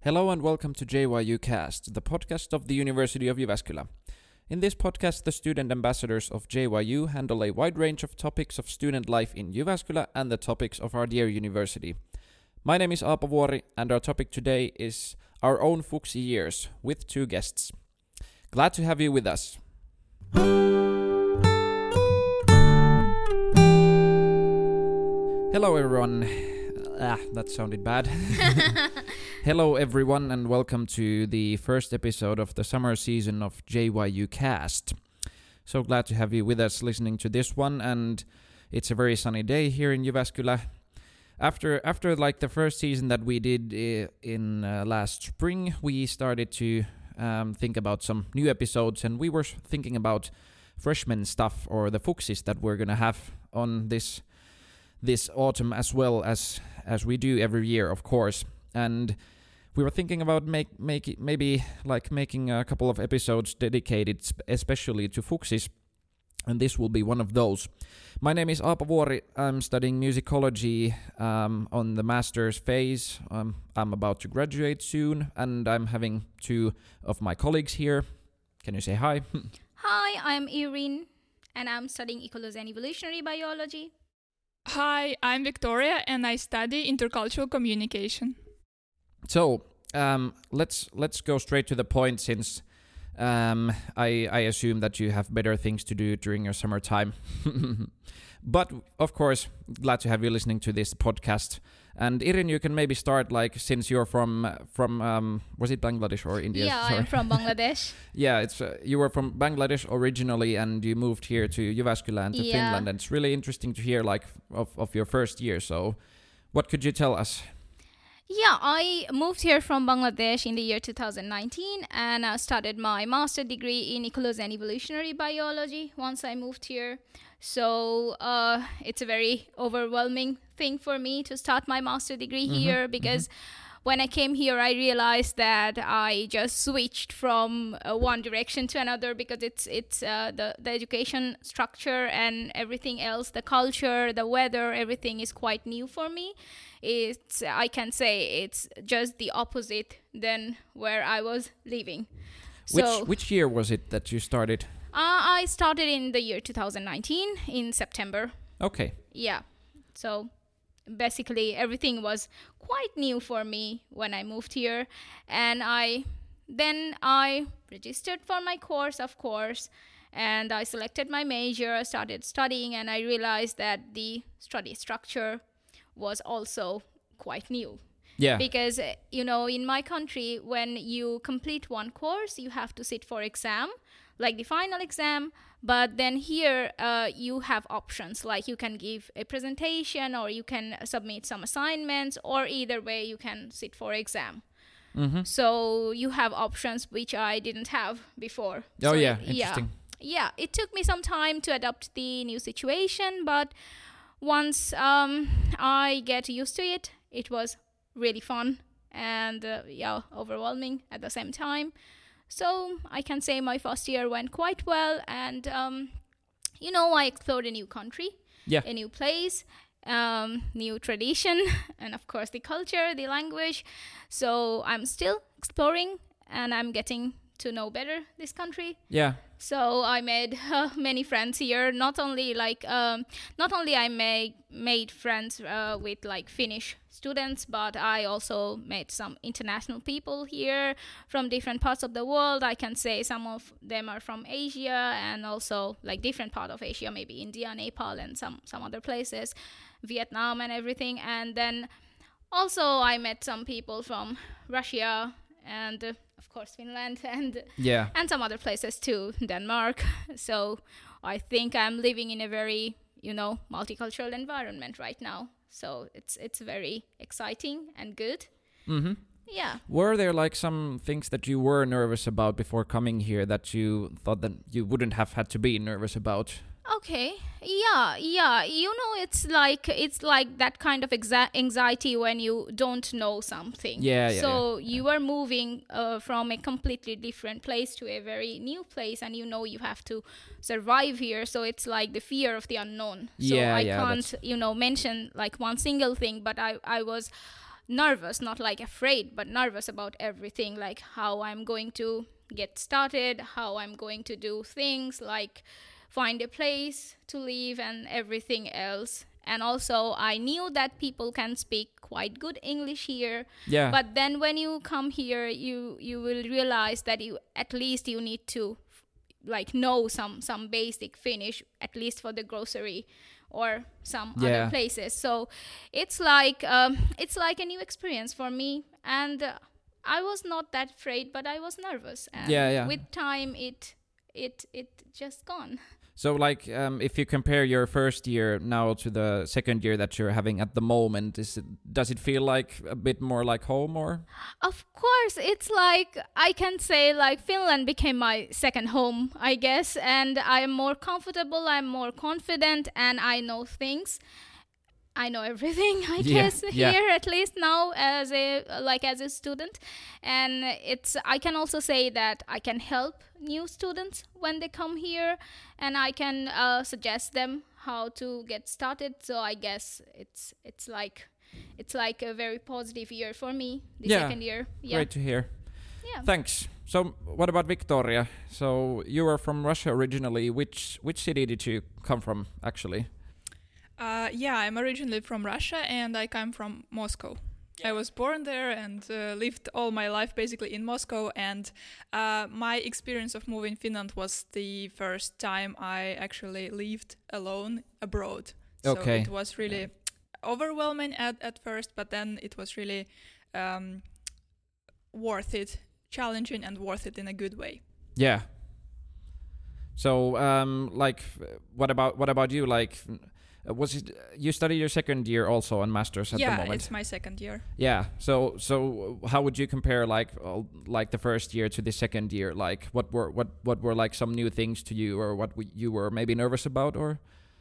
Hello and welcome to JYU Cast, the podcast of the University of Jyväskylä. In this podcast, the student ambassadors of JYU handle a wide range of topics of student life in Jyväskylä and the topics of our dear university. My name is Aapo Vuori, and our topic today is our own Fuksi years, with two guests. Glad to have you with us. Hello everyone. That sounded bad. Hello everyone and welcome to the first episode of the summer season of JYU Cast. So glad to have you with us listening to this one, and it's a very sunny day here in Jyväskylä. After like the first season that we did in last spring, we started to think about some new episodes, and we were thinking about freshman stuff or the Fuksis that we're gonna have on this autumn, as well as we do every year, of course. And we were thinking about making a couple of episodes dedicated especially to Fuksis, and this will be one of those. My name is Aapo Vuori. I'm studying musicology on the master's phase. I'm about to graduate soon, and I'm having two of my colleagues here. Can you say hi? Hi, I'm Irene, and I'm studying ecology and evolutionary biology. Hi, I'm Victoria, and I study intercultural communication. So let's go straight to the point, since I assume that you have better things to do during your summertime. But of course, glad to have you listening to this podcast. And Irene, you can maybe start, like, since you're from was it Bangladesh or India? Yeah, Sorry. I'm from Bangladesh. Yeah, it's you were from Bangladesh originally, and you moved here to Jyväskylä and to Finland. And it's really interesting to hear, like, of your first year. So, what could you tell us? Yeah, I moved here from Bangladesh in the year 2019, and I started my master degree in ecology and evolutionary biology once I moved here. So it's a very overwhelming thing for me to start my master degree here, because when I came here, I realized that I just switched from one direction to another, because it's the education structure and everything else, the culture, the weather, everything is quite new for me. I can say it's just the opposite than where I was living. Which year was it that you started? I started in the year 2019 in September. Okay. Yeah. So basically everything was quite new for me when I moved here, and I registered for my course, of course, and I selected my major. I started studying, and I realized that the study structure was also quite new. Yeah. Because in my country, when you complete one course, you have to sit for exam, like the final exam. But then here you have options, like you can give a presentation, or you can submit some assignments, or either way you can sit for exam. So you have options which I didn't have before. Oh, so yeah, interesting. Yeah, it took me some time to adapt the new situation, but once I get used to it, it was really fun and overwhelming at the same time. So I can say my first year went quite well, and I explored a new country, a new place, new tradition, and of course the culture, the language. So I'm still exploring, and I'm getting to know better this country. Yeah. So I made many friends here. Not only I made friends with like Finnish students, but I also met some international people here from different parts of the world. I can say some of them are from Asia, and also like different part of Asia, maybe India, Nepal, and some other places, Vietnam and everything. And then also I met some people from Russia and of course Finland and some other places too, Denmark. So I think I'm living in a very multicultural environment right now. So it's very exciting and good. Yeah. Were there like some things that you were nervous about before coming here that you thought that you wouldn't have had to be nervous about? Okay. Yeah. It's like that kind of anxiety when you don't know something. So you are moving from a completely different place to a very new place, and you have to survive here. So it's like the fear of the unknown. So I can't mention like one single thing, but I was nervous, not like afraid, but nervous about everything, like how I'm going to get started, how I'm going to do things, like find a place to live and everything else. And also I knew that people can speak quite good English here. Yeah. But then when you come here, you will realize that you at least you need to like know some basic Finnish, at least for the grocery or some other places. So it's like a new experience for me, and I was not that afraid, but I was nervous. And with time, it just gone. So, like, if you compare your first year now to the second year that you're having at the moment, does it feel like a bit more like home, or? Of course, it's like I can say like Finland became my second home, I guess, and I'm more comfortable, I'm more confident, and I know things. I know everything, I guess, here at least now as a student. And I can also say that I can help new students when they come here, and I can suggest them how to get started. So I guess it's like a very positive year for me, the second year. Yeah. Great to hear. Yeah. Thanks. So what about Victoria? So you were from Russia originally. Which city did you come from, actually? I'm originally from Russia, and I come from Moscow. I was born there and lived all my life basically in Moscow, and my experience of moving Finland was the first time I actually lived alone abroad. So it was really overwhelming at first, but then it was really worth it, challenging and worth it in a good way. Yeah. So like what about you, like was it you study your second year also on masters at the moment? Yeah, it's my second year. Yeah. So how would you compare like the first year to the second year? Like what were like some new things to you, or what you were maybe nervous about, or?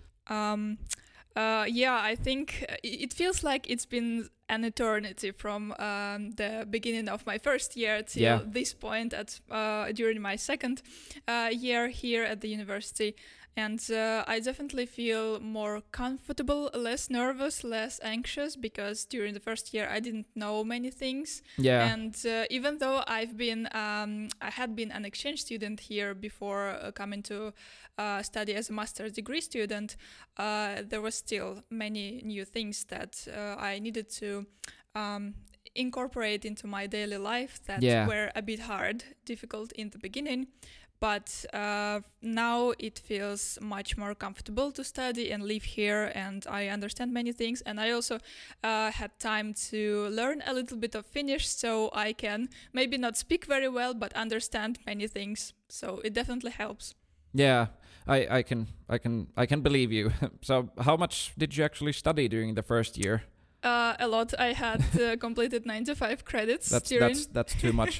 I think it feels like it's been an eternity from the beginning of my first year till this point during my second year here at the university. And I definitely feel more comfortable, less nervous, less anxious, because during the first year I didn't know many things. Yeah. And even though I had been an exchange student here before coming to study as a master's degree student, there was still many new things that I needed to incorporate into my daily life that were a bit difficult in the beginning. But now it feels much more comfortable to study and live here, and I understand many things. And I also had time to learn a little bit of Finnish, so I can maybe not speak very well, but understand many things. So it definitely helps. Yeah, I can believe you. So how much did you actually study during the first year? A lot. I had completed 95 credits. That's too much.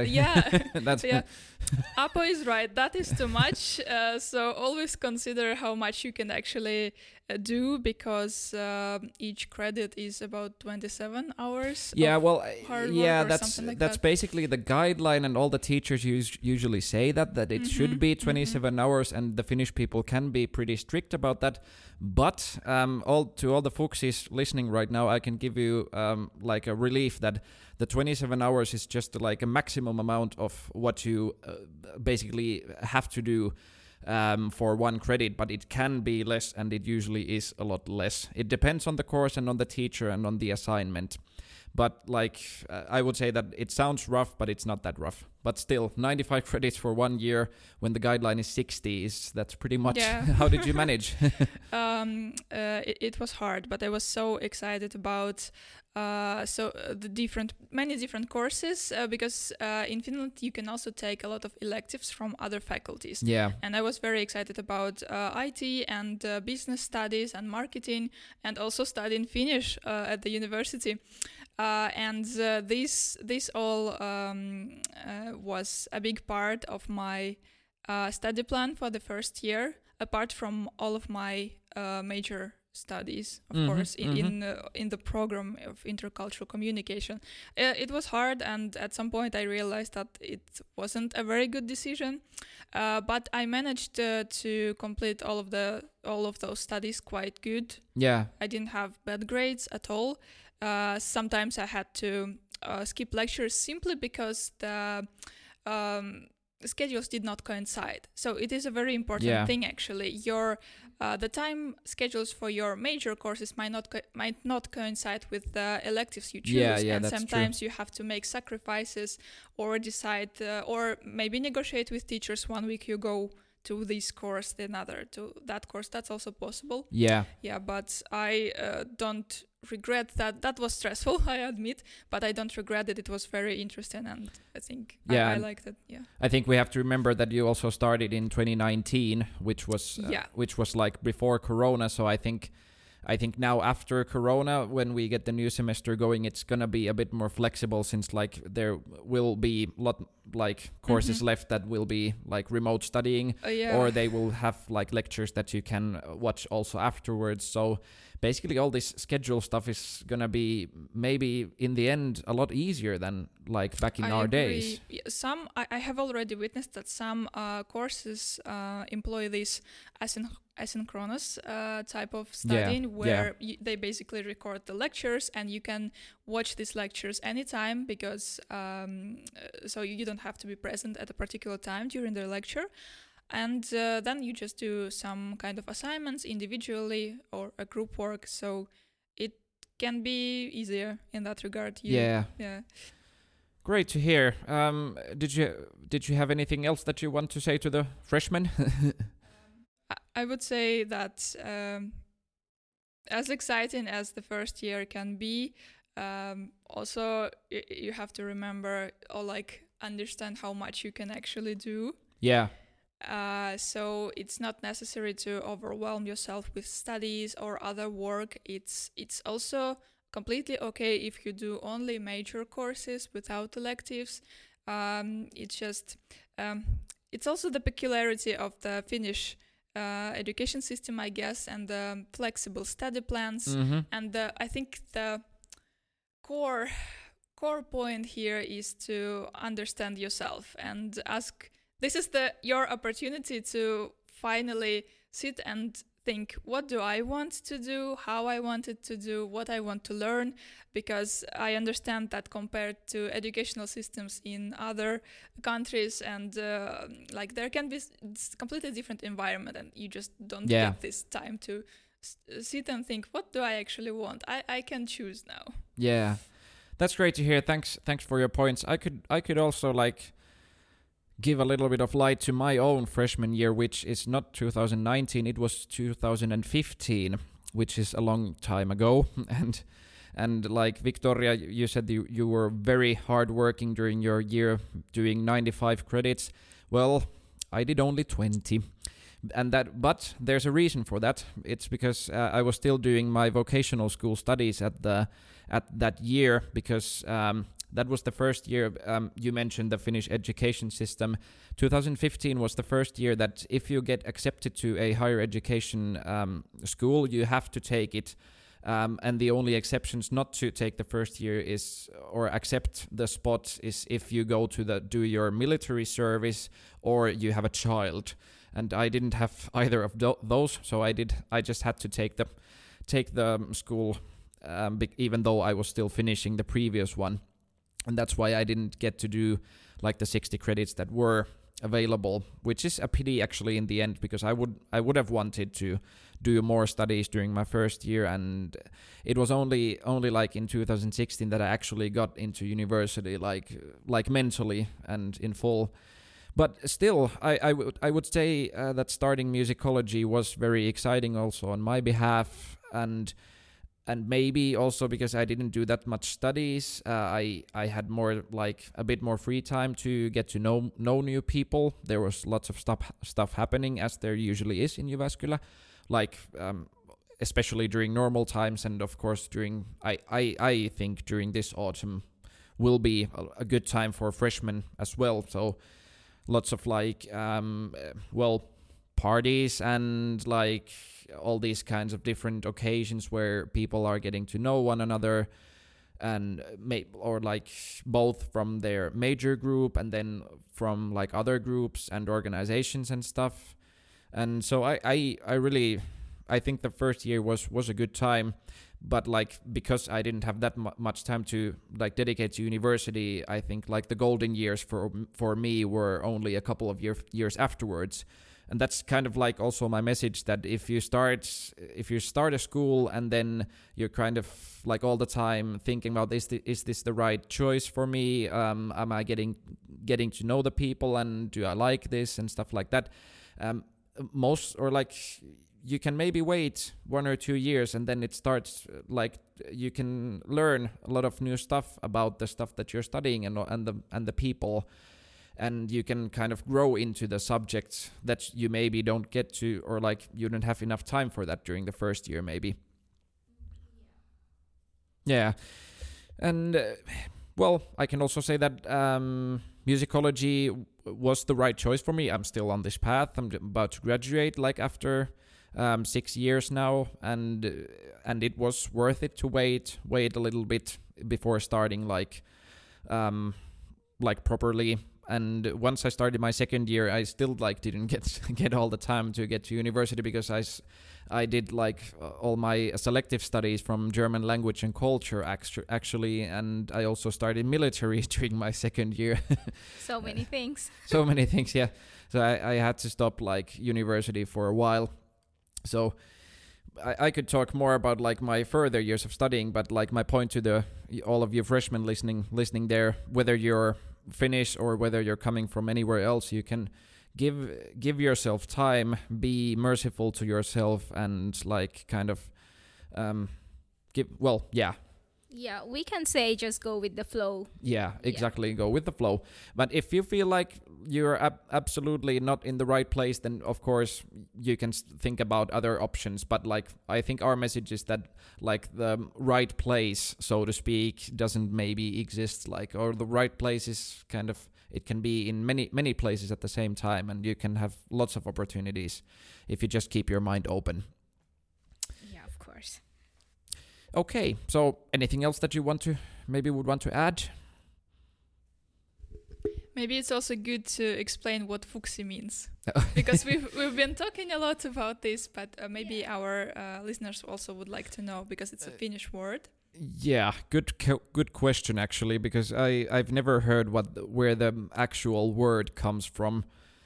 Apo is right. That is too much. So always consider how much you can actually do, because each credit is about 27 hours. That's basically the guideline, and all the teachers usually say that it should be 27 hours, and the Finnish people can be pretty strict about that. But all the Fuchsies listening right now, I can give you like a relief that the 27 hours is just like a maximum amount of what you basically have to do for one credit, but it can be less, and it usually is a lot less. It depends on the course and on the teacher and on the assignment. But like I would say that it sounds rough, but it's not that rough. But still, 95 credits for 1 year when the guideline is 60 that's pretty much. Yeah. How did you manage? It was hard, but I was so excited about many different courses, because in Finland you can also take a lot of electives from other faculties. Yeah. And I was very excited about IT and business studies and marketing, and also studying Finnish at the university. And this all was a big part of my study plan for the first year, apart from all of my major studies, of course, in the program of intercultural communication. It was hard, and at some point I realized that it wasn't a very good decision, but I managed to complete all of those studies quite good. Yeah, I didn't have bad grades at all. sometimes I had to skip lectures simply because the schedules did not coincide. So it is a very important thing actually. The time schedules for your major courses might not coincide with the electives you choose, and sometimes you have to make sacrifices or decide or maybe negotiate with teachers. 1 week you go to this course, the another to that course. That's also possible. Yeah, but I don't regret that. That was stressful, I admit, but I don't regret it. It was very interesting, and I think I liked it. Yeah, I think we have to remember that you also started in 2019, which was like before Corona. So I think now after Corona, when we get the new semester going, it's gonna be a bit more flexible, since like there will be courses left that will be like remote studying, or they will have like lectures that you can watch also afterwards. So basically all this schedule stuff is gonna be maybe in the end a lot easier than like back in our days. I have already witnessed that some courses employ this asynchronous type of studying, where they basically record the lectures and you can watch these lectures anytime, because so you don't have to be present at a particular time during the lecture. And then you just do some kind of assignments individually or a group work. So it can be easier in that regard. Yeah. Great to hear. Did you have anything else that you want to say to the freshmen? I would say that as exciting as the first year can be, also you have to remember or like understand how much you can actually do. Yeah. So it's not necessary to overwhelm yourself with studies or other work. It's also completely okay if you do only major courses without electives. It's also the peculiarity of the Finnish education system, I guess, and the flexible study plans. Mm-hmm. And I think the core point here is to understand yourself and ask. This is your opportunity to finally sit and think, what do I want to do, how I want it to do, what I want to learn, because I understand that compared to educational systems in other countries, and there can be completely different environment, and you just don't get this time to sit and think, what do I actually want? I can choose now. Yeah, that's great to hear. Thanks for your points. I could also give a little bit of light to my own freshman year, which is not 2019, it was 2015, which is a long time ago. And like Victoria, you said you were very hard working during your year, doing 95 credits. Well, I did only 20. But there's a reason for that. It's because I was still doing my vocational school studies at that year, because that was the first year. You mentioned the Finnish education system. 2015 was the first year that if you get accepted to a higher education school, you have to take it. And the only exceptions not to take the first year or accept the spot is if you go to do your military service or you have a child. And I didn't have either of those, so I just had to take the school, even though I was still finishing the previous one. And that's why I didn't get to do like the 60 credits that were available, which is a pity actually in the end, because I would have wanted to do more studies during my first year, and it was only like in 2016 that I actually got into university, like mentally and in full. But still, I would say that starting musicology was very exciting also on my behalf, and maybe also because I didn't do that much studies, I had more a bit more free time to get to know new people. There was lots of stuff happening, as there usually is in Jyväskylä, especially during normal times, and of course during I think during this autumn will be a good time for freshmen as well. So lots of parties and all these kinds of different occasions where people are getting to know one another, and both from their major group and then from other groups and organizations and stuff. And so I think the first year was a good time. but like because I didn't have that much time to like dedicate to university, I think like the golden years for me were only a couple of years afterwards. And that's kind of like also my message, that if you start a school and then you're kind of like all the time thinking about is this the right choice for me? Am I getting to know the people, and do I like this and stuff like that? You can maybe wait 1 or 2 years, and then it starts like you can learn a lot of new stuff about the stuff that you're studying and the people. And you can kind of grow into the subjects that you maybe don't get to, or like you don't have enough time for that during the first year maybe. Yeah. And well, I can also say that musicology was the right choice for me. I'm still on this path. I'm about to graduate like after 6 years now, and it was worth it to wait a little bit before starting like properly. And once I started my second year, I still like didn't get all the time to get to university, because I did like all my selective studies from German language and culture actually, and I also started military during my second year. So many things. So many things, yeah. So I had to stop like university for a while. So I could talk more about like my further years of studying, but like my point to all of you freshmen listening there, whether you're Finnish or whether you're coming from anywhere else, you can give yourself time, be merciful to yourself, and like kind of Yeah, we can say just go with the flow. Yeah, exactly. Go with the flow. But if you feel like you're absolutely not in the right place, then of course you can think about other options. But like I think our message is that like the right place, so to speak, doesn't maybe exist. Like, or the right place is kind of, it can be in many places at the same time, and you can have lots of opportunities if you just keep your mind open. Yeah, of course. Okay, so anything else that you would want to add? Maybe it's also good to explain what fuksi means, because we've been talking a lot about this, but maybe our listeners also would like to know, because it's a Finnish word. Yeah, good question actually, because I've never heard where the actual word comes from.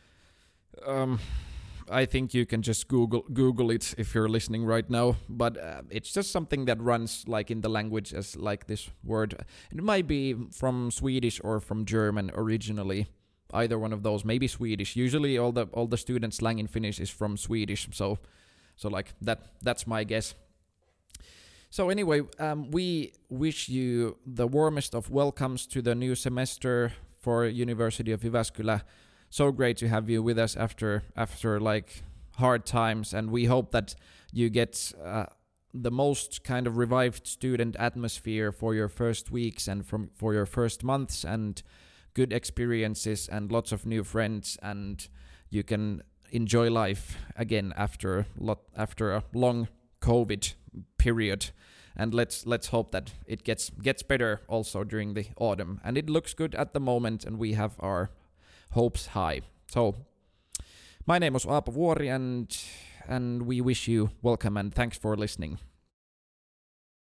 I think you can just Google it if you're listening right now, but it's just something that runs like in the language as like this word. It might be from Swedish or from German originally, either one of those. Maybe Swedish. Usually all the student slang in Finnish is from Swedish, so like that's my guess. So anyway, we wish you the warmest of welcomes to the new semester for University of Jyväskylä. So great to have you with us after like hard times, and we hope that you get the most kind of revived student atmosphere for your first weeks and for your first months, and good experiences and lots of new friends, and you can enjoy life again after a long COVID period. And let's hope that it gets better also during the autumn. And it looks good at the moment, and we have our hopes high. So my name was Aapo Vuori, and we wish you welcome and thanks for listening.